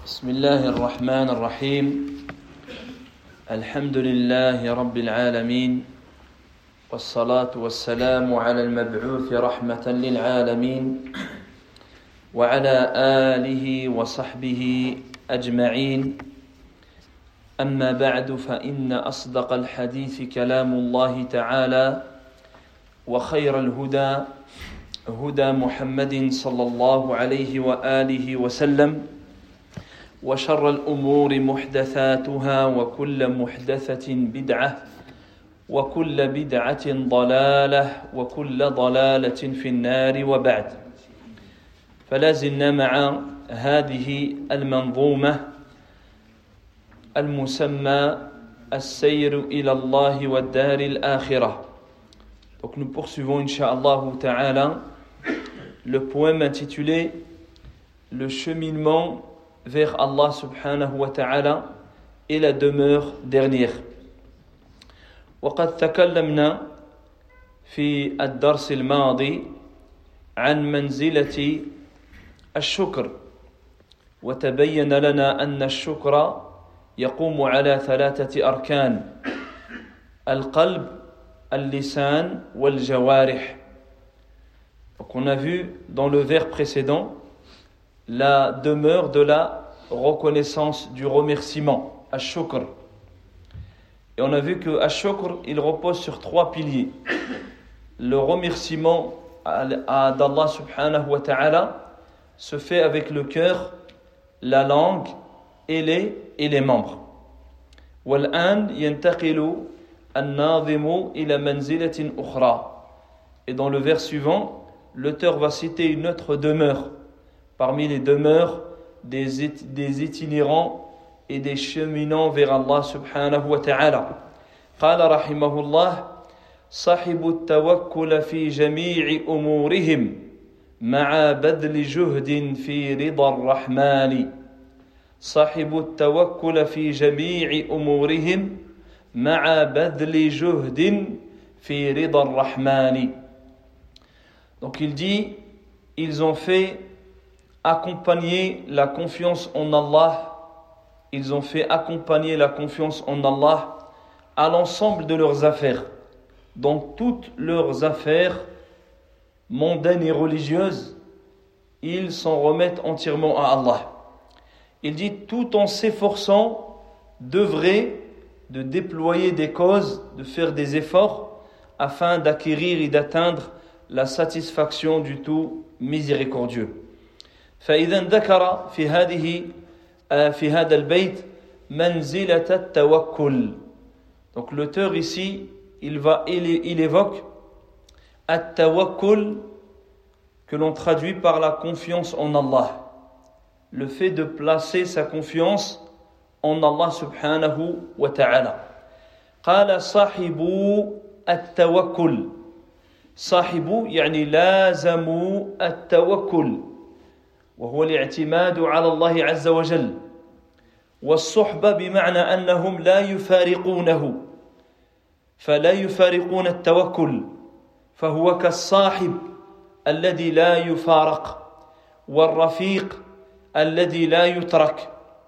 بسم الله الرحمن الرحيم الحمد لله رب العالمين والصلاة والسلام على المبعوث رحمة للعالمين وعلى آله وصحبه أجمعين أما بعد فإن أصدق الحديث كلام الله تعالى وخير الهدى هدى محمد صلى الله عليه وآله وسلم وشر الأمور محدثاتها وكل محدثة بدعة وكل بدعة ضلالة وكل ضلالة في النار وبعد فلا زلنا مع هذه المنظومة المسمى السير إلى الله والدار الآخرة. Donc nous poursuivons Inch'Allah Ta'ala le poème intitulé Le cheminement vers Allah subhanahu wa ta'ala et la demeure dernière. وقد تكلمنا في الدرس الماضي عن منزلة الشكر وتبين لنا أن الشكر يقوم على ثلاثة أركان القلب اللسان والجوارح. Donc on a vu dans le vers précédent la demeure de la reconnaissance, du remerciement, ash-shukr. Et on a vu que ash-shukr, il repose sur trois piliers. Le remerciement d'Allah subhanahu wa ta'ala se fait avec le cœur, la langue et les membres. وَالْآنْ يَنْتَقِلُ النَّاظِمُ إِلَى مَنْزِلَةٍ أُخْرَى. Et dans le vers suivant, l'auteur va citer une autre demeure parmi les demeures des itinérants et des cheminants vers Allah subhanahu wa ta'ala. قال رحمه الله صاحب التوكل في جميع أمورهم مع بذل جهد في رضا الرحمن. صاحب التوكل في جميع أمورهم مع بذل جهد في رضا الرحمن. Donc il dit, ils ont fait accompagner la confiance en Allah, ils ont fait accompagner la confiance en Allah à l'ensemble de leurs affaires, dans toutes leurs affaires mondaines et religieuses, ils s'en remettent entièrement à Allah. Il dit tout en s'efforçant d'œuvrer, de déployer des causes, de faire des efforts afin d'acquérir et d'atteindre la satisfaction du tout miséricordieux. فإذا ذكر في هذا البيت منزلة التوكل. Donc l'auteur ici, il évoque التوكل que l'on traduit par la confiance en Allah. Le fait de placer sa confiance en Allah subhanahu wa ta'ala. قال صاحب التوكل. صاحب يعني لازموا التوكل وهو الاعتماد على الله عز وجل. والصحبة بمعنى أنهم لا يفارقونه فلا يفارقون التوكل فهو كالصاحب الذي لا يفارق والرفيق الذي لا يترك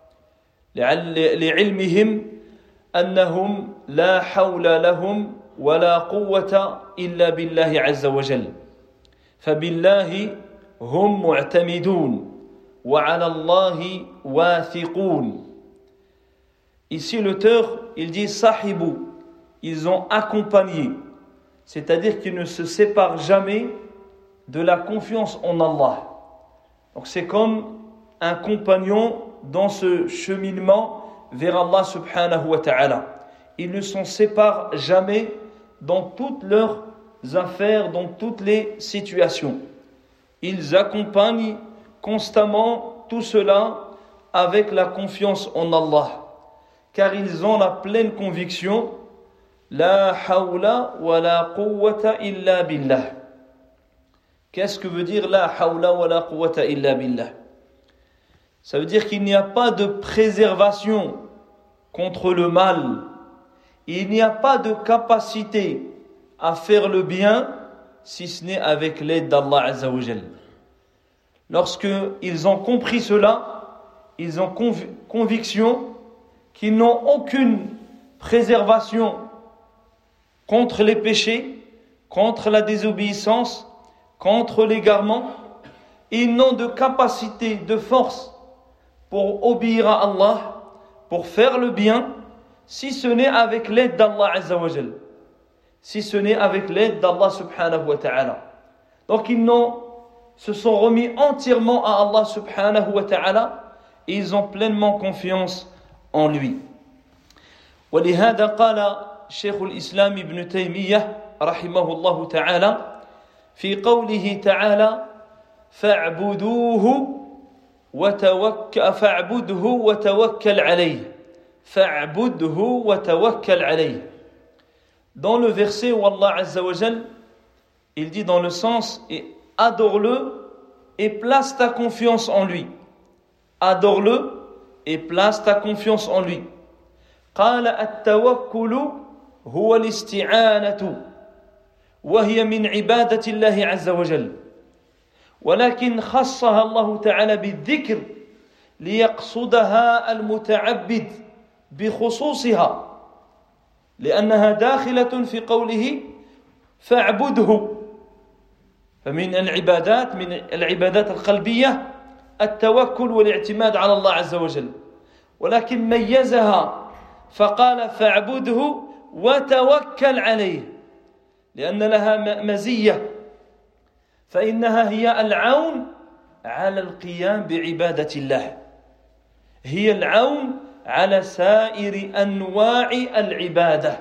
لعلمهم أنهم لا حول لهم ولا قوة إلا بالله عز وجل فبالله هم معتمدون وعلى الله واثقون. Ici l'auteur il dit sahibu, ils ont accompagné, c'est-à-dire qu'ils ne se séparent jamais de la confiance en Allah. Donc c'est comme un compagnon dans ce cheminement vers Allah subhanahu wa ta'ala. Ils ne s'en séparent jamais dans toutes leurs affaires, dans toutes les situations. Ils accompagnent constamment tout cela avec la confiance en Allah, car ils ont la pleine conviction La hawla wa la quwwata illa billah. Qu'est-ce que veut dire La hawla wa la quwwata illa billah? Ça veut dire qu'il n'y a pas de préservation contre le mal. Il n'y a pas de capacité à faire le bien si ce n'est avec l'aide d'Allah Azza wa Jal. Lorsqu'ils ont compris cela, ils ont conviction qu'ils n'ont aucune préservation contre les péchés, contre la désobéissance, contre l'égarement. Ils n'ont de capacité, de force pour obéir à Allah, pour faire le bien, si ce n'est avec l'aide d'Allah Azza wa Jal, si ce n'est avec l'aide d'Allah subhanahu wa ta'ala. Donc se sont remis entièrement à Allah subhanahu wa ta'ala et ils ont pleinement confiance en lui. ولهذا قال شيخ الإسلام ابن تيمية رحمه الله تعالى في قوله تعالى فاعبده وتوكل عليه فاعبده وتوكل عليه. Dans le verset où Allah Azza wa Jal, il dit dans le sens et adore-le et place ta confiance en lui. Adore-le et place ta confiance en lui. قال التوكل هو الاستعانة وهي من عبادة الله عز وجل ولكن خصها الله تعالى بالذكر ليقصدها المتعبد بخصوصها لأنها داخلة في قوله فاعبده. فمن العبادات القلبية التوكل والاعتماد على الله عز وجل ولكن ميزها فقال فاعبده وتوكل عليه لأن لها مزية فإنها هي العون على القيام بعبادة الله هي العون على سائر أنواع العبادة.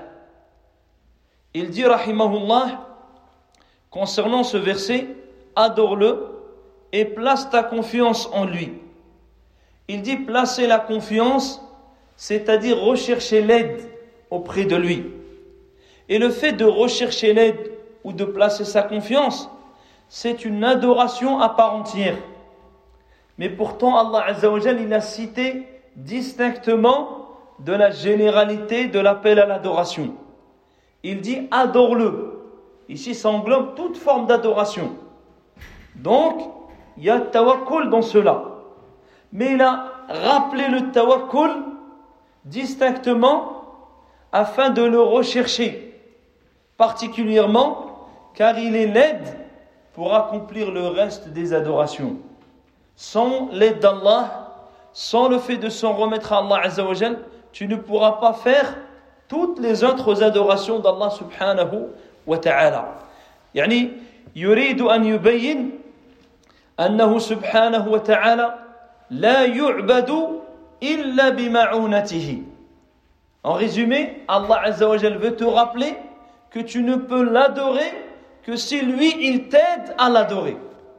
Il dit rahimahullah concernant ce verset, adore-le et place ta confiance en lui. Il dit placer la confiance, c'est-à-dire rechercher l'aide auprès de lui. Et le fait de rechercher l'aide ou de placer sa confiance, c'est une adoration à part entière. Mais pourtant, Allah Azza wa Jal, il a cité distinctement de la généralité de l'appel à l'adoration. Il dit adore-le. Ici, ça englobe toute forme d'adoration. Donc, il y a tawakkul dans cela. Mais il a rappelé le tawakkul distinctement afin de le rechercher, particulièrement car il est l'aide pour accomplir le reste des adorations. Sans l'aide d'Allah, sans le fait de s'en remettre à Allah Azza wa Jal, tu ne pourras pas faire toutes les autres adorations d'Allah subhanahu wa ta'ala. يعني يريد أن يبين أنه سبحانه وتعالى لا يعبد إلا بمعونته. En résumé, Allah Azza wa Jal veut te rappeler que tu ne peux l'adorer que si lui, il t'aide à l'adorer.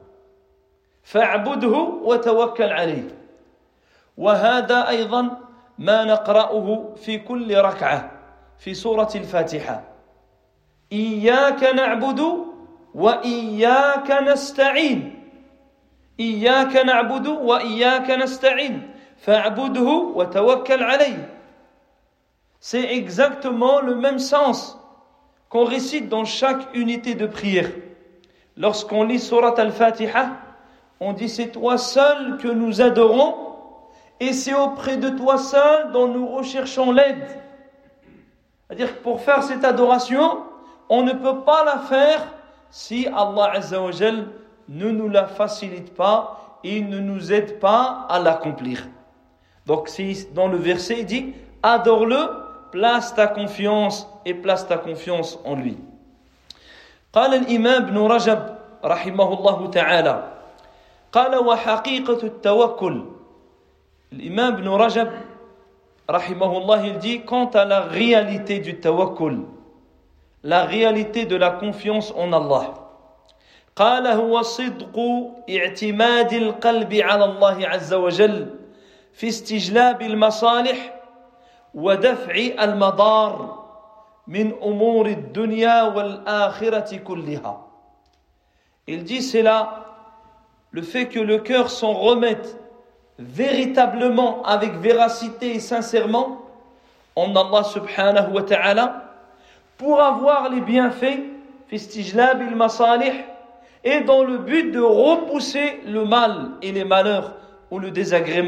فاعبده وتوكل عليه. وهذا أيضا ما نقرأه في كل ركعة في سورة الفاتحة. إياك نعبد وإياك نستعين. إياك نعبد وإياك نستعين. فاعبده وتوكل عليه. C'est exactement le même sens qu'on récite dans chaque unité de prière. Lorsqu'on lit Surat Al-Fatiha, on dit c'est toi seul que nous adorons et c'est auprès de toi seul dont nous recherchons l'aide. C'est-à-dire que pour faire cette adoration, on ne peut pas la faire si Allah Azza wa Jal ne nous la facilite pas et ne nous aide pas à l'accomplir. Donc dans le verset, il dit adore-le, place ta confiance et place ta confiance en lui. قال الإمام ابن رجب رحمه الله تعالى قال وحقيقة التوكل. L'imam ibn Rajab rahimahullah, il dit quant à la réalité du tawakkul, la réalité de la confiance en Allah. قال هو صدق اعتماد القلب على الله عز وجل في استجلاب المصالح ودفع المضار من أمور الدنيا والآخرة كلها. Il dit c'est là le fait que le cœur s'en remette véritablement, avec véracité et sincèrement en Allah subhanahu wa ta'ala pour avoir les bienfaits fi istijlab al-masalih et dans le but de repousser le mal et les malheurs ou le désagrément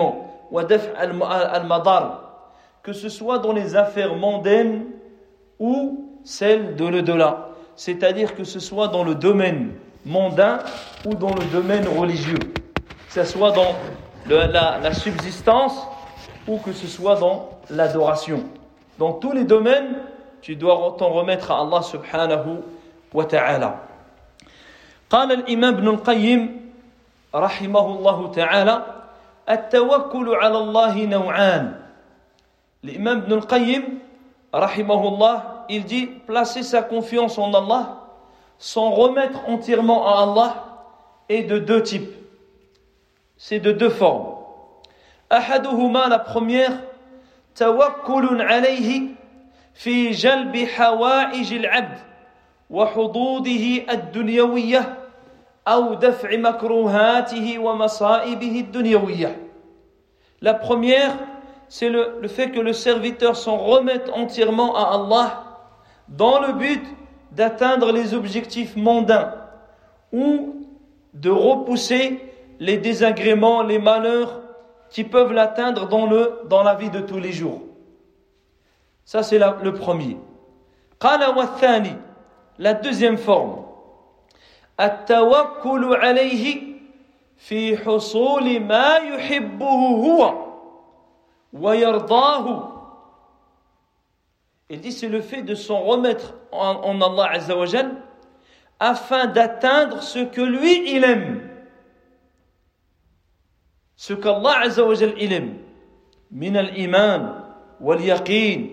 ودفع المضار, que ce soit dans les affaires mondaines ou celles de l'au-delà, c'est-à-dire que ce soit dans le domaine mondain ou dans le domaine religieux, que ce soit dans la subsistance ou que ce soit dans l'adoration. Dans tous les domaines, tu dois t'en remettre à Allah subhanahu wa ta'ala. قال الإمام ابن القيم رحمه الله تعالى التوكل على الله نوعان. L'imam Ibn al-Qayyim rahimahullah, il dit placer sa confiance en Allah, s'en remettre entièrement à Allah, est de deux types. C'est de deux formes. أحدهما, la première, توكل عليه في جلب حوائج العبد وحظوظه الدنيوية أو دفع مكروهاته ومصائبه الدنيوية. La première, c'est le fait que le serviteur s'en remette entièrement à Allah dans le but d'atteindre les objectifs mondains ou de repousser les désagréments, les malheurs qui peuvent l'atteindre dans la vie de tous les jours. Ça, c'est le premier. قال والثاني, la deuxième forme, التوكل عليه في حصول ما يحبه هو ويرضاه. Il dit c'est le fait de s'en remettre en Allah Azza wa Jal afin d'atteindre ce que lui il aime, ce qu'Allah Azza wa Jal il aime, من الإيمان واليقين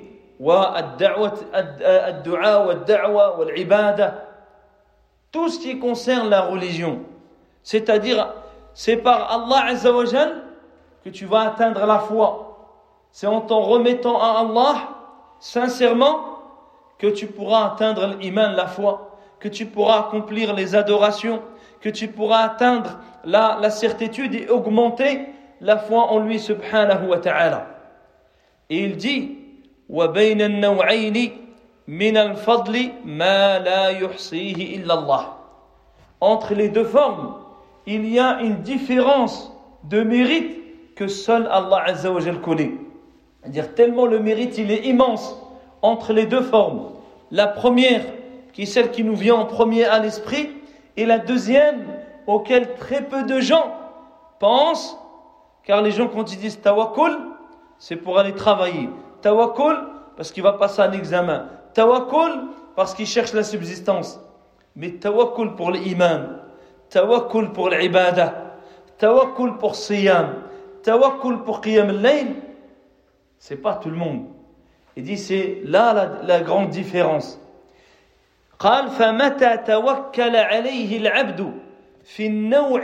والدعاء والدعوة والعبادة, tout ce qui concerne la religion, c'est-à-dire c'est par Allah Azza wa Jal que tu vas atteindre la foi. C'est en t'en remettant à Allah sincèrement que tu pourras atteindre l'iman, la foi, que tu pourras accomplir les adorations, que tu pourras atteindre la certitude et augmenter la foi en lui subhanahu wa ta'ala. Et il dit وَبَيْنَ النَّوْعَيْنِ مِنَ الْفَضْلِ مَا لَا يُحْصِيهِ إِلَّا اللَّهِ. Entre les deux formes, il y a une différence de mérite que seul Allah Azza wa Jal connaît. C'est-à-dire tellement le mérite il est immense entre les deux formes. La première, qui est celle qui nous vient en premier à l'esprit, et la deuxième, auquel très peu de gens pensent, car les gens quand ils disent tawakkul, c'est pour aller travailler. Tawakkul, parce qu'il va passer un examen. Tawakkul, parce qu'il cherche la subsistance. Mais tawakkul pour l'iman, tawakkul pour l'ibada, tawakkul pour siyam, tawakkul pour qiyam al-layl, c'est pas tout le monde. Il dit c'est là la grande différence. قال فمتى توكل عليه العبد في النوع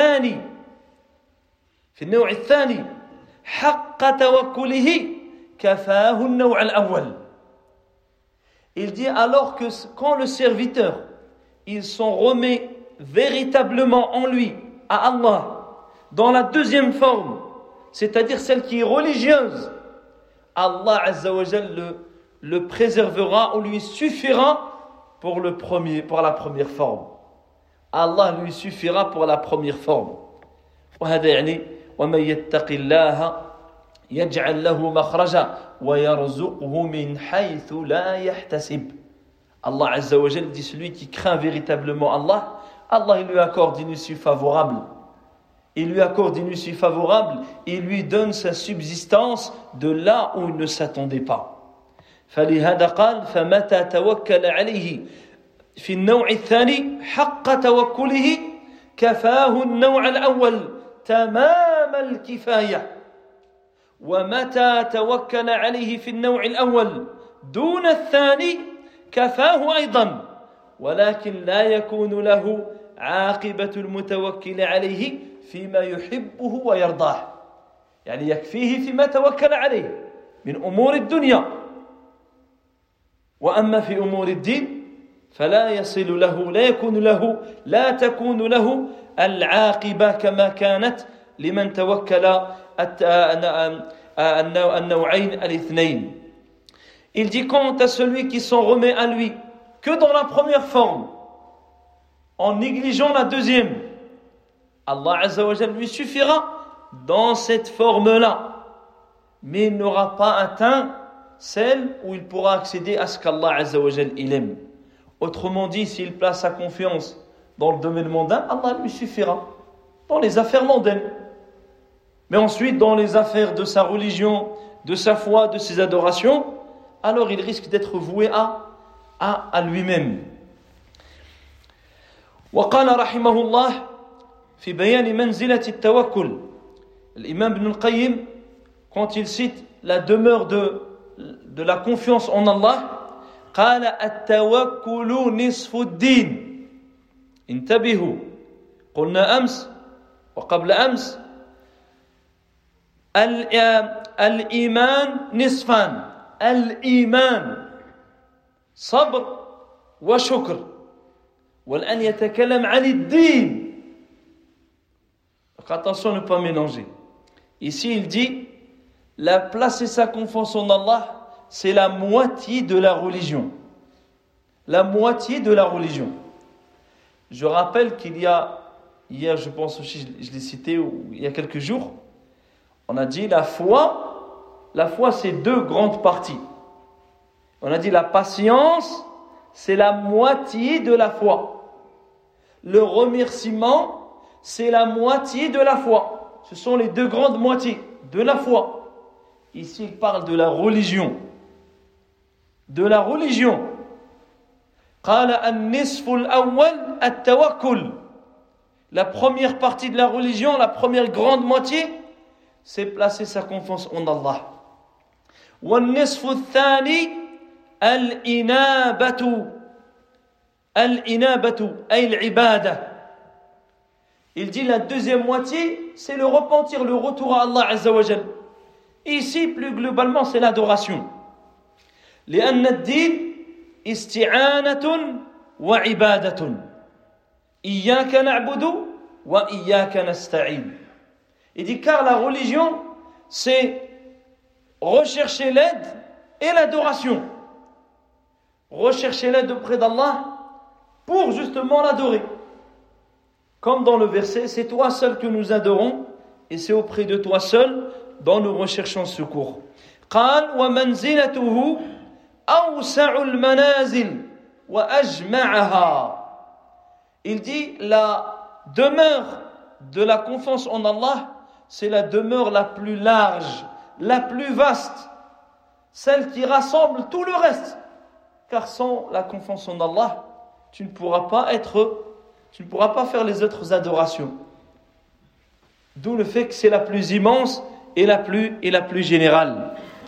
الثاني حق توكله كفاه النوع الأول. Il dit alors que quand le serviteur il s'en remet véritablement en lui à Allah dans la deuxième forme, c'est-à-dire celle qui est religieuse, Allah Azza wa Jal le préservera ou lui suffira pour la première forme. Allah lui suffira pour la première forme. وهذا يعني ومن يتق الله يجعل له مخرجا ويرزقه من حيث لا يحتسب. Allah Azza wa Jal dit celui qui craint véritablement Allah, Allah il lui accorde une issue favorable. Il lui accorde une issue favorable et lui donne sa subsistance de là où il ne s'attendait pas. فلهذا قال فمتى توكل عليه في النوع الثاني حق توكله كفاه النوع الأول تمام الكفاية ومتى توكل عليه في النوع الأول دون الثاني كفاه أيضا ولكن لا يكون له عاقبة المتوكل عليه فيما يحبه ويرضاه. يعني يكفيه فيما توكل عليه من أمور الدنيا، وأما في أمور الدين فلا يصل له لا تكون له العاقبة كما كانت لمن توكل النوعين الاثنين. Il dit quant à celui qui s'en remet à lui que dans la première forme, en négligeant la deuxième, Allah Azza wa Jal lui suffira dans cette forme-là, mais il n'aura pas atteint celle où il pourra accéder à ce qu'Allah Azza wa Jal il aime. Autrement dit, s'il place sa confiance dans le domaine mondain, Allah lui suffira dans les affaires mondaines. Mais ensuite, dans les affaires de sa religion, de sa foi, de ses adorations, alors il risque d'être voué à lui-même. وقال رحمه الله في بيان منزلة التوكل. L'imam Ibn al-Qayyim, quand il cite la demeure de la confiance en Allah, قال التوكل نصف الدين. انتبهوا، قلنا أمس وقبل أمس الإيمان نصفان، الإيمان صبر وشكر، والآن يتكلم عن الدين. Donc attention à ne pas mélanger. Ici il dit, la placer sa confiance en Allah, c'est la moitié de la religion. La moitié de la religion. Je rappelle qu'il y a, hier je pense aussi, je l'ai cité il y a quelques jours, on a dit la foi c'est deux grandes parties. On a dit la patience, c'est la moitié de la foi. Le remerciement, c'est la moitié de la foi. Ce sont les deux grandes moitiés de la foi. Ici, il parle de la religion. De la religion. قال النصف الأول التوكل. La première partie de la religion, la première grande moitié, c'est placer sa confiance en Allah. والنصف الثاني الإنابة أي العبادة. Il dit la deuxième moitié, c'est le repentir, le retour à Allah Azza wa Jal. Ici, plus globalement, c'est l'adoration. لأن الدين استعانة وعبادة. إياك نعبد وإياك نستعين. Il dit car la religion, c'est rechercher l'aide et l'adoration. Rechercher l'aide auprès d'Allah pour justement l'adorer. Comme dans le verset, c'est toi seul que nous adorons et c'est auprès de toi seul dont nous recherchons secours. قال ومنزلته أوسع المنازل وأجمعها. Il dit la demeure de la confiance en Allah, c'est la demeure la plus large, la plus vaste, celle qui rassemble tout le reste. Car sans la confiance en Allah, tu ne pourras pas faire les autres adorations. D'où le fait que c'est la plus immense et la plus générale.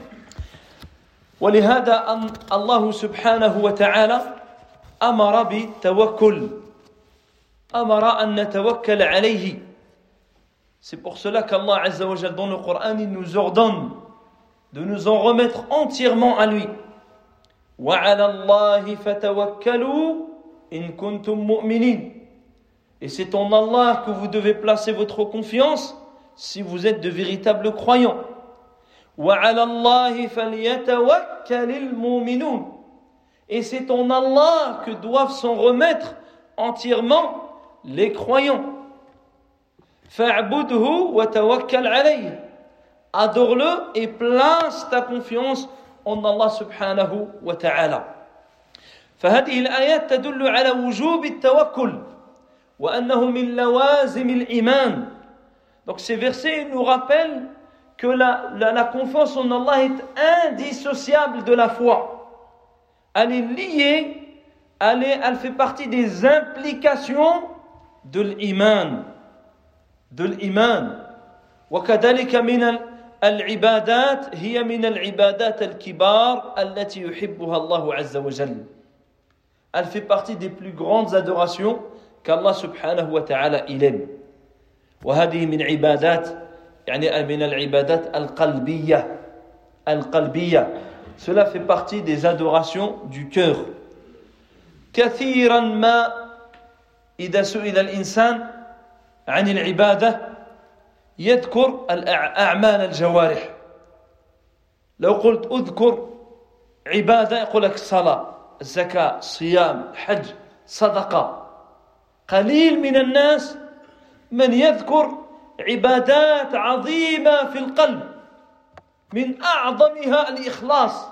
ولهذا الله سبحانه وتعالى أمر بالتوكل. أمر أن نتوكل عليه. C'est pour cela qu'Allah Azza wa Jal dans le Coran il nous ordonne de nous en remettre entièrement à lui. وعلى الله فتوكلوا إن كنتم مؤمنين. Et c'est en Allah que vous devez placer votre confiance si vous êtes de véritables croyants. وعلى الله فليتوكل المؤمنون. Et c'est en Allah que doivent s'en remettre entièrement les croyants. فاعبده وتوكل عليه. Adore-le et place ta confiance en Allah subhanahu wa ta'ala. فهذه الآيات تدل على وجوب التوكل وأنه من لوازم الإيمان. Donc ces versets nous rappellent que la confiance en Allah est indissociable de la foi. Elle est liée, elle fait partie des implications de l'iman. وكذلك من العبادات هي من العبادات الكبار التي يحبها الله عز وجل. Elle fait partie des plus grandes adorations qu'Allah subhanahu wa ta'ala il aime. وهذه من عبادات يعني من العبادات القلبية. Cela fait partie des adorations du cœur. كثيرا ما إذا سئل الإنسان عن العبادة يذكر الأعمال الجوارح. لو قلت أذكر عبادة يقول لك الصلاة، الزكاة، الصيام، حج، صدقة. قليل من الناس من يذكر عبادات عظيمة في القلب من أعظمها الإخلاص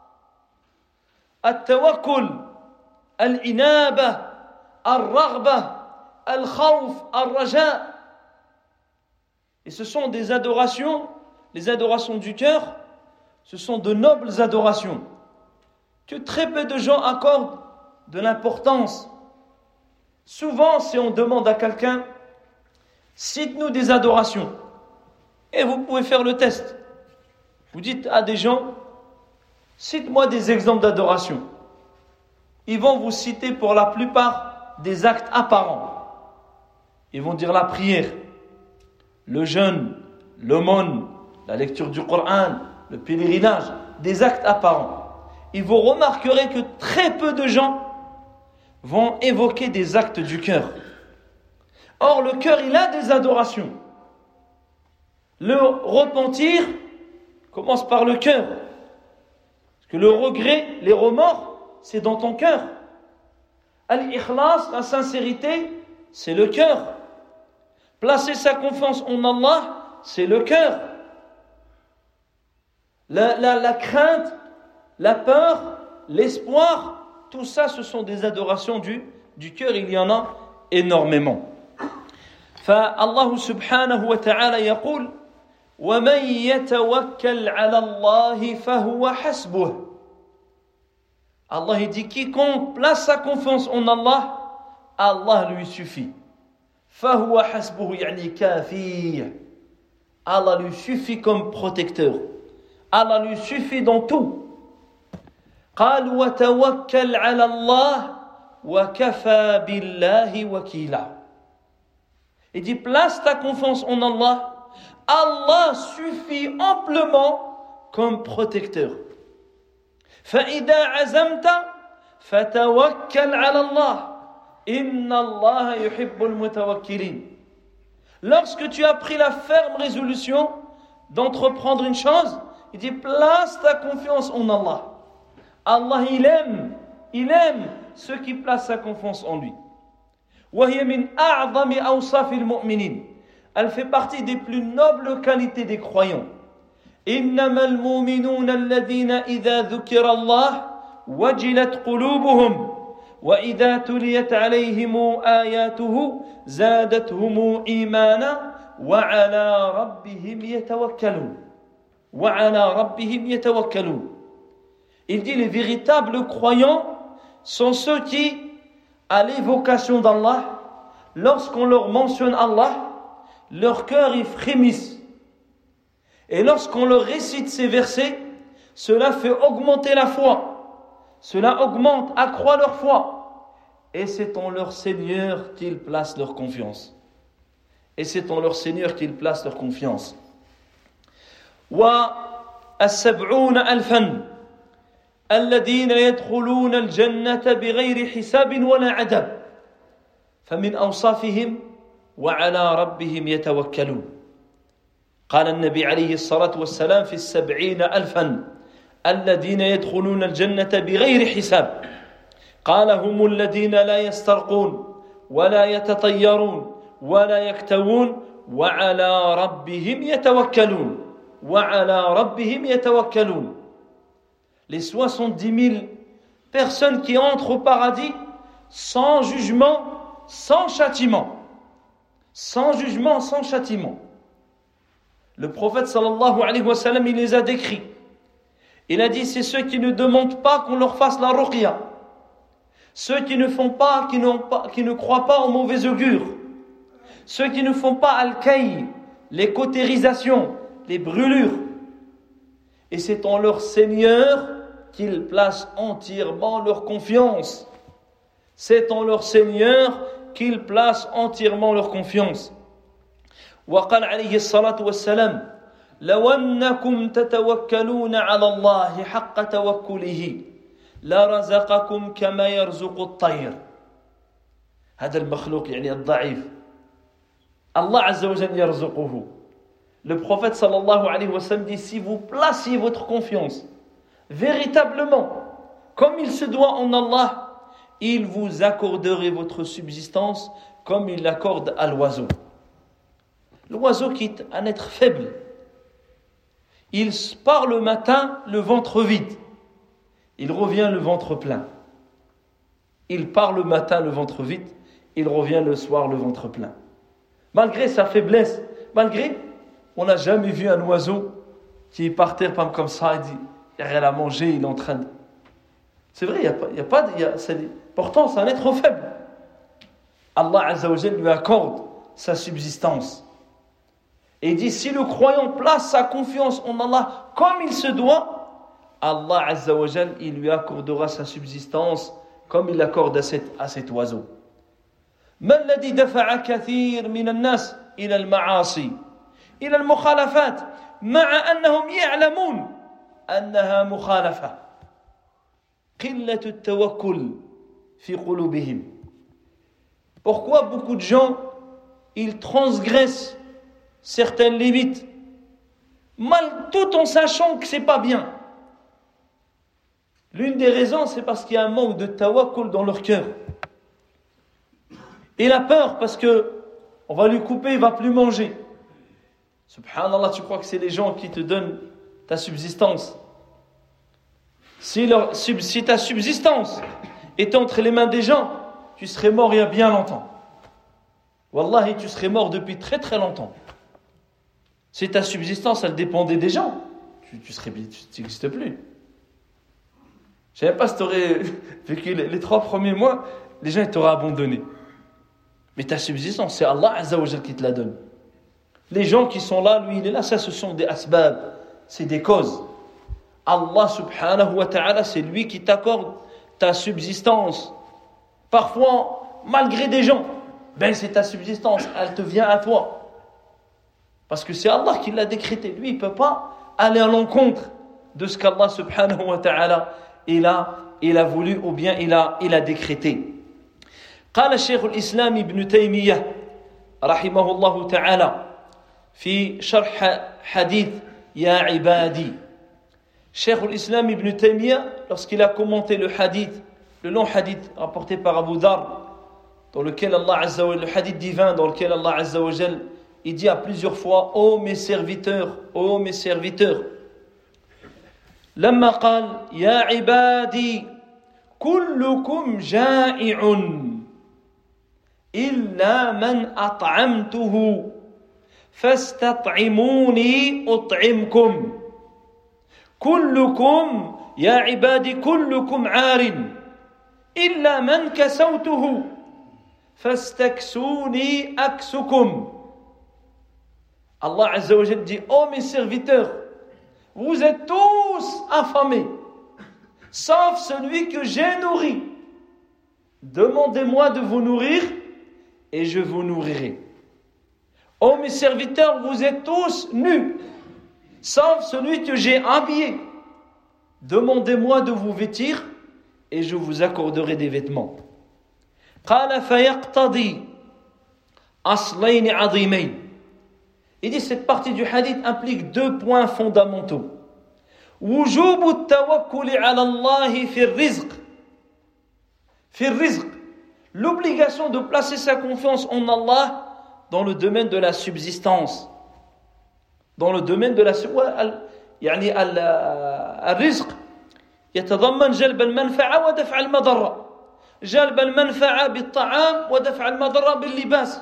التوكل الإنابة الرغبة الخوف الرجاء. Et ce sont des adorations, les adorations du cœur, ce sont de nobles adorations que très peu de gens accordent de l'importance. Souvent, si on demande à quelqu'un, cite-nous des adorations, et vous pouvez faire le test. Vous dites à des gens, cite-moi des exemples d'adoration. Ils vont vous citer pour la plupart des actes apparents. Ils vont dire la prière, le jeûne, l'aumône, la lecture du Coran, le pèlerinage, des actes apparents. Et vous remarquerez que très peu de gens vont évoquer des actes du cœur. Or, le cœur, il a des adorations. Le repentir commence par le cœur. Parce que le regret, les remords, c'est dans ton cœur. Al-ikhlas, la sincérité, c'est le cœur. Placer sa confiance en Allah, c'est le cœur. La crainte, la peur, l'espoir, tout ça, ce sont des adorations du cœur. Il y en a énormément. فالله سبحانه وتعالى يقول ومن يتوكل على الله فهو حسبه. Allah dit quiconque place sa confiance en Allah, Allah lui suffit. فهو حسبه يعني كافيه. Allah lui suffit comme protecteur. Allah lui suffit dans tout. قال وتوكل على الله وكفى بالله وكيلا. Il dit place ta confiance en Allah. Allah suffit amplement comme protecteur. فإذا عزمت فتوكل على الله إن الله يحب المتوكلين. Lorsque tu as pris la ferme résolution d'entreprendre une chose, il dit place ta confiance en Allah. Allah il aime ceux qui placent sa confiance en lui. وهي من أعظم أوصاف المؤمنين. Elle fait partie des plus nobles qualités des croyants. إنما المؤمنون الذين إذا ذكر الله وجلت قلوبهم وإذا تليت عليهم آياته زادتهم إيمانا وعلى ربهم يتوكلون. وعلى ربهم يتوكلون. Il dit les véritables croyants sont ceux qui, à l'évocation d'Allah, lorsqu'on leur mentionne Allah, leur cœur y frémisse. Et lorsqu'on leur récite ces versets, cela fait augmenter la foi. Cela augmente, accroît leur foi. Et c'est en leur Seigneur qu'ils placent leur confiance. Et c'est en leur Seigneur qu'ils placent leur confiance. وَالسَّبْعُونَ أَلْفًا الذين يدخلون الجنة بغير حساب ولا عذاب فمن أوصافهم وعلى ربهم يتوكلون. قال النبي عليه الصلاة والسلام في 70,000 الذين يدخلون الجنة بغير حساب. قال هم الذين لا يسترقون ولا يتطيرون ولا يكتوون وعلى ربهم يتوكلون. وعلى ربهم يتوكلون. Les 70 000 personnes qui entrent au paradis sans jugement, sans châtiment. Sans jugement, sans châtiment. Le prophète sallallahu alayhi wa sallam, il les a décrits. Il a dit, c'est ceux qui ne demandent pas qu'on leur fasse la ruqya. Ceux qui ne font pas, qui ne croient pas au mauvais augure. Ceux qui ne font pas al-kay, les cautérisations, les brûlures. Et c'est en leur Seigneur qu'ils placent entièrement leur confiance. C'est en leur Seigneur qu'ils placent entièrement leur confiance. وقال عليه الصلاة والسلام لو أنكم تتوكلون على الله حق توكله لرزقكم كما يرزق الطير. هذا المخلوق يعني الضعيف الله عز وجل يرزقه. Le prophète sallallahu alayhi wa sallam dit, si vous placiez votre confiance véritablement, comme il se doit en Allah, il vous accorderait votre subsistance comme il l'accorde à l'oiseau. L'oiseau qui est un être faible, il part le matin le ventre vide, il revient le ventre plein. Il part le matin le ventre vide, il revient le soir le ventre plein. Malgré sa faiblesse, on n'a jamais vu un oiseau qui est par terre comme ça, il dit, il n'y a rien à manger, il est en train de... C'est vrai, pourtant c'est un être faible. Allah Azza wa Jal lui accorde sa subsistance. Et il dit, si le croyant place sa confiance en Allah comme il se doit, Allah Azza wa Jal, il lui accordera sa subsistance comme il l'accorde à cet oiseau. ما الذي دفع كثير من الناس إلى المعاصي إلى المخالفات مع أنهم يعلمون أنها مخالفة قلة التوكل في قلوبهم. Pourquoi beaucoup de gens ils transgressent certaines limites tout en sachant que c'est pas bien? L'une des raisons, c'est parce qu'il y a un manque de tawakkul dans leur cœur. Et la peur, parce que on va lui couper, il va plus manger. Subhanallah, tu crois que c'est les gens qui te donnent ta subsistance? Si ta subsistance était entre les mains des gens, tu serais mort il y a bien longtemps. Wallahi, tu serais mort depuis très très longtemps. Si ta subsistance, elle dépendait des gens, tu n'existes plus. Je ne sais pas si tu aurais vécu les 3 premiers mois, les gens t'auraient abandonné. Mais ta subsistance, c'est Allah Azza wa Jal qui te la donne. Les gens qui sont là, lui il est là, ça ce sont des asbab, c'est des causes. Allah subhanahu wa ta'ala, c'est lui qui t'accorde ta subsistance. Parfois, malgré des gens, c'est ta subsistance, elle te vient à toi. Parce que c'est Allah qui l'a décrété. Lui, il ne peut pas aller à l'encontre de ce qu'Allah subhanahu wa ta'ala il a voulu ou bien il a décrété. قال الشيخ الإسلام ابن تيمية رحمه الله تعالى في شرح حديث يا عبادي. Cheikh al-Islam ibn Taymiyyah, lorsqu'il a commenté le long hadith rapporté par Abu Dhar, dans lequel Allah Azza wa Jal, le hadith divin dans lequel Allah Azza wa Jal, il dit à plusieurs fois, ô mes serviteurs, لما قال يا عبادي كلكم جائع إلا من أطعمته فاستطعموني أطعمكم كلكم يا عبادي كلكم عار إلا من كسوته فاستكسوني أكسكم. Allah Azza wa Jal dit, ô mes serviteurs, vous êtes tous affamés, sauf celui que j'ai nourri. Demandez-moi de vous nourrir et je vous nourrirai. Ô mes serviteurs, vous êtes tous nus, sauf celui que j'ai habillé. Demandez-moi de vous vêtir et je vous accorderai des vêtements. قال فيقتضي أصلين عظيمين. Il dit cette partie du hadith implique 2 points fondamentaux. وجوب التوكل على الله في الرزق. في الرزق. L'obligation de placer sa confiance en Allah dans le domaine de la subsistance. Dans le domaine de la يعني الرزق يتضمن جلب المنفعة ودفع المضرة. جلب المنفعة بالطعام ودفع المضرة باللباس.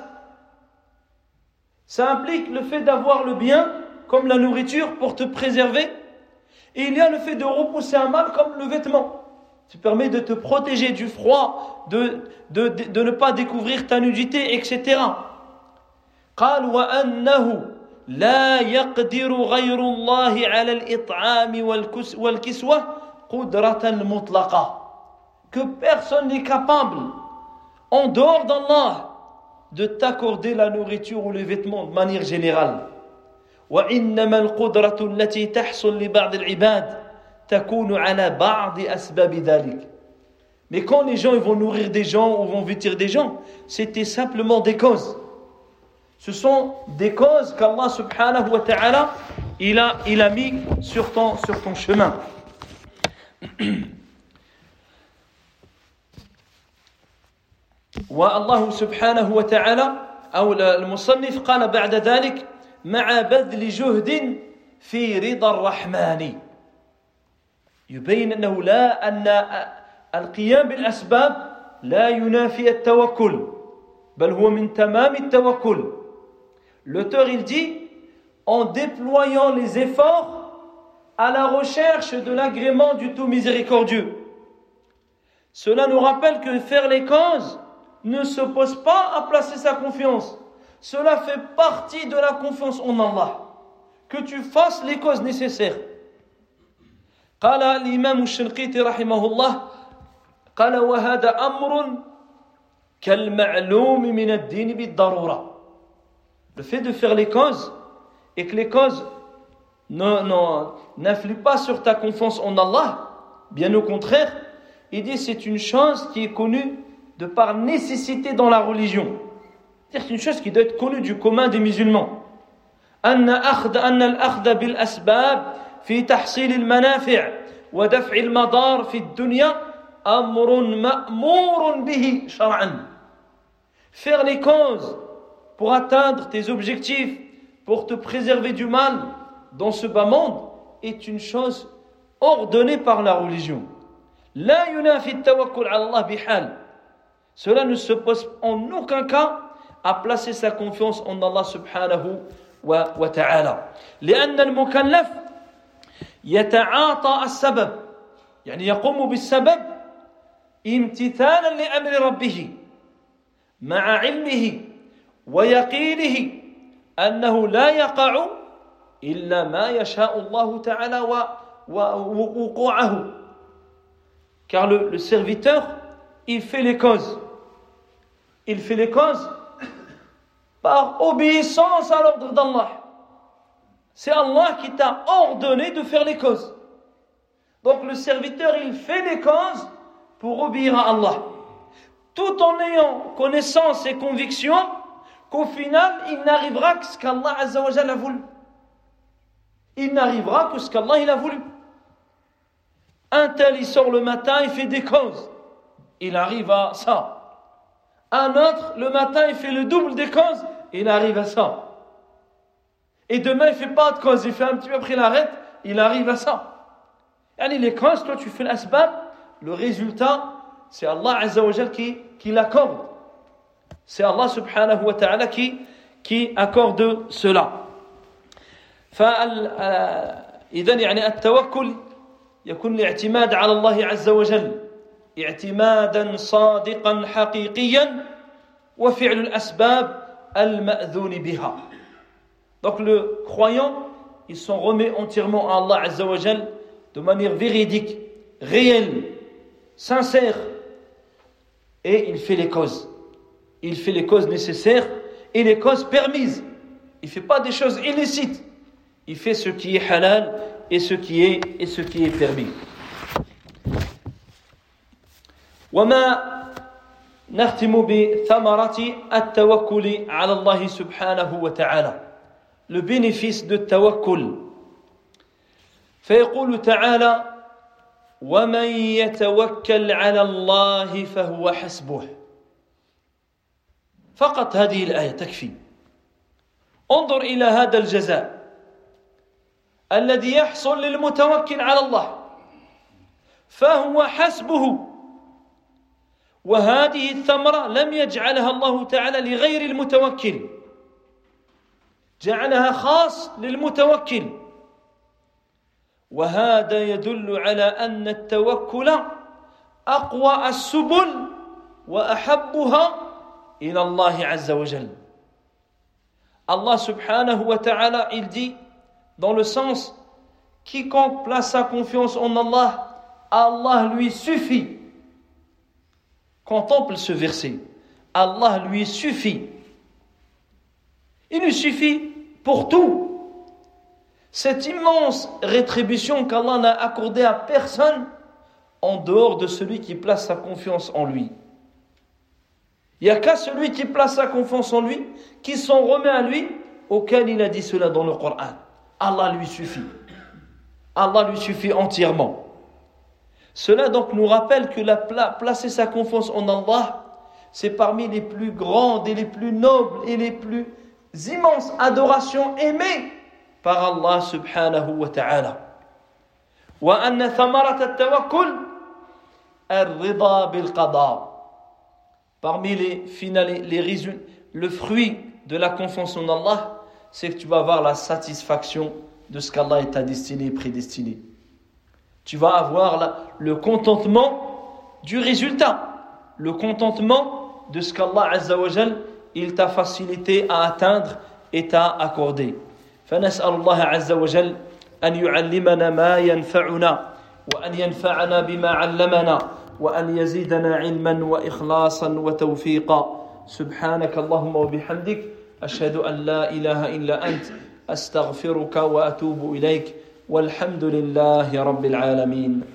Ça implique le fait d'avoir le bien comme la nourriture pour te préserver, et il y a le fait de repousser un mal comme le vêtement. Ça permet de te protéger du froid, de ne pas découvrir ta nudité, etc. قال وأنه لا يقدر غير الله على الإطعام والكسوة قدرة مطلقة. Que personne n'est capable, en dehors d'Allah, de t'accorder la nourriture ou les vêtements de manière générale. وإنما القدرة التي تحصل لبعض العباد تكون على بعض أسباب ذلك. Mais quand les gens ils vont nourrir des gens ou vont vêtir des gens, c'était simplement des causes. Ce sont des causes qu'Allah subhanahu wa ta'ala il a mis sur ton chemin. والله سبحانه وتعالى أو المصنف قال بعد ذلك مع بذل جهد في رضا الرحمن يبين أنه لا أن القيام بالأسباب لا ينافي التوكل بل هو من تمام التوكل. L'auteur il dit en déployant les efforts à la recherche de l'agrément du tout miséricordieux. Cela nous rappelle que faire les causes ne s'oppose pas à placer sa confiance. Cela fait partie de la confiance en Allah. Que tu fasses les causes nécessaires. قال الإمام الشنقيطي رحمه الله قال وهذا أمر كالمعلوم من الدين بالضرورة. Le fait de faire les causes et que les causes n'influent pas sur ta confiance en Allah, bien au contraire, il dit c'est une chose qui est connue de par nécessité dans la religion. C'est une chose qui doit être connue du commun des musulmans. أن الأخذ بالأسباب في تحصيل المنافع ودفع المضار في الدنيا أمر مأمور به شرعا. Faire les causes pour atteindre tes objectifs, pour te préserver du mal dans ce bas monde est une chose ordonnée par la religion. لا ينافي التوكل على الله بحال. Cela ne s'oppose en aucun cas à placer sa confiance en Allah subhanahu wa ta'ala. لأن المكلف يتعاطى السبب يعني يقوم بالسبب امتثالا لأمر ربه مع علمه ويقينه أنه لا يقع إلا ما يشاء الله تعالى ووقوعه. Car le serviteur, il fait les causes. Il fait les causes par obéissance à l'ordre d'Allah. C'est Allah qui t'a ordonné de faire les causes. Donc le serviteur, il fait les causes pour obéir à Allah. Tout en ayant connaissance et conviction qu'au final, il n'arrivera que ce qu'Allah Azza wa Jalla a voulu. Il n'arrivera que ce qu'Allah il a voulu. Un tel, il sort le matin, il fait des causes. Il arrive à ça. Un autre, le matin, il fait le double des causes. Il arrive à ça. Et demain, il ne fait pas de causes. Il fait un petit peu après, il arrête. Il arrive à ça. Yani les causes, toi, tu fais l'asbab. Le résultat, c'est Allah Azza wa Jal qui l'accorde. C'est Allah subhanahu wa ta'ala qui accorde cela. إذن يعني التوكل يكون الاعتماد على الله عز وجل اعتمادا صادقا حقيقيا وفعل الأسباب المأذون بها. Donc le croyant, il s'en remet entièrement à Allah Azza wa Jal de manière véridique, réelle, sincère, et il fait les causes. Il fait les causes nécessaires et les causes permises. Il ne fait pas des choses illicites. Il fait ce qui est halal et ce qui est permis. وما نختم بثمرة التوكل على الله سبحانه وتعالى. Le bénéfice de tawakkul. فيقول تعالى ومن يتوكل على الله فهو حسبه. فقط هذه الآية تكفي. انظر إلى هذا الجزاء الذي يحصل للمتوكل على الله فهو حسبه. وهذه الثمرة لم يجعلها الله تعالى لغير المتوكل، جعلها خاص للمتوكل. وهذا يدل على أن التوكل أقوى السبل وأحبها إلى الله عز وجل. Allah subhanahu wa ta'ala, il dit dans le sens quiconque place sa confiance en Allah, Allah lui suffit. Contemple ce verset. Allah lui suffit. Il lui suffit pour tout. Cette immense rétribution qu'Allah n'a accordée à personne en dehors de celui qui place sa confiance en lui. Il n'y a qu'à celui qui place sa confiance en lui, qui s'en remet à lui, auquel il a dit cela dans le Coran. Allah lui suffit. Allah lui suffit entièrement. Cela donc nous rappelle que placer sa confiance en Allah, c'est parmi les plus grandes et les plus nobles et les plus immenses adorations aimées par Allah subhanahu wa ta'ala. وأن ثمرة التوكل الرضا بالقضاء. Parmi le fruit de la confiance en Allah, c'est que tu vas avoir la satisfaction de ce qu'Allah t'a destiné et prédestiné. Tu vas avoir le contentement du résultat, le contentement de ce qu'Allah Azza wa Jal il t'a facilité à atteindre et t'a accordé. فنسأل الله عز وجل أن يعلمنا ما ينفعنا وأن ينفعنا بما علمنا وأن يزيدنا علما وإخلاصا وتوفيقا. سبحانك اللهم وبحمدك أشهد أن لا إله إلا أنت أستغفرك وأتوب إليك والحمد لله رب العالمين.